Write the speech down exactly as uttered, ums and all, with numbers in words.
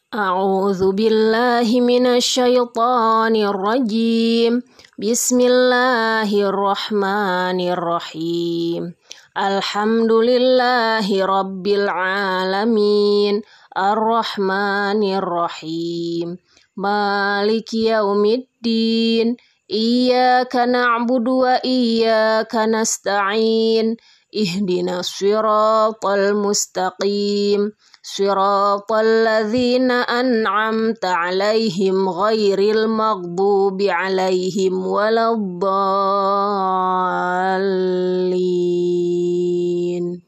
A'udzu billahi minasyaitonir rajim. Bismillahirrahmanirrahim. Alhamdulillahi rabbil alamin. Ar-Rahmanir-Rahim. Maliki yaumiddin. Iyyaka na'budu wa iyyaka nasta'in. Ihdinas siratal mustaqim. Siratal ladzina an'amta 'alaihim ghairil maghdubi 'alaihim waladdallin.